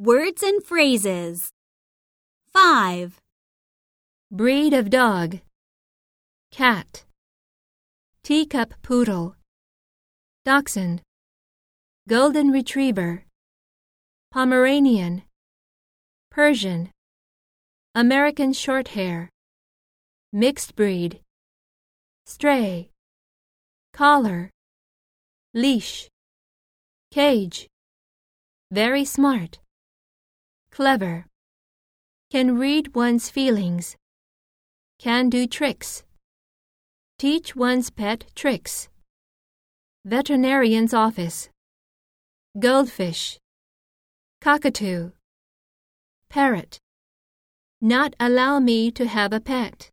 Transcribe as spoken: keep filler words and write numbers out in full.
Words and phrases. five. Breed of dog. Cat. Teacup poodle. Dachshund. Golden retriever. Pomeranian. Persian. American shorthair. Mixed breed. Stray. Collar. Leash. Cage. Very smart. Clever. Can read one's feelings. Can do tricks. Teach one's pet tricks. Veterinarian's office. Goldfish. Cockatoo. Parrot. Not allow me to have a pet.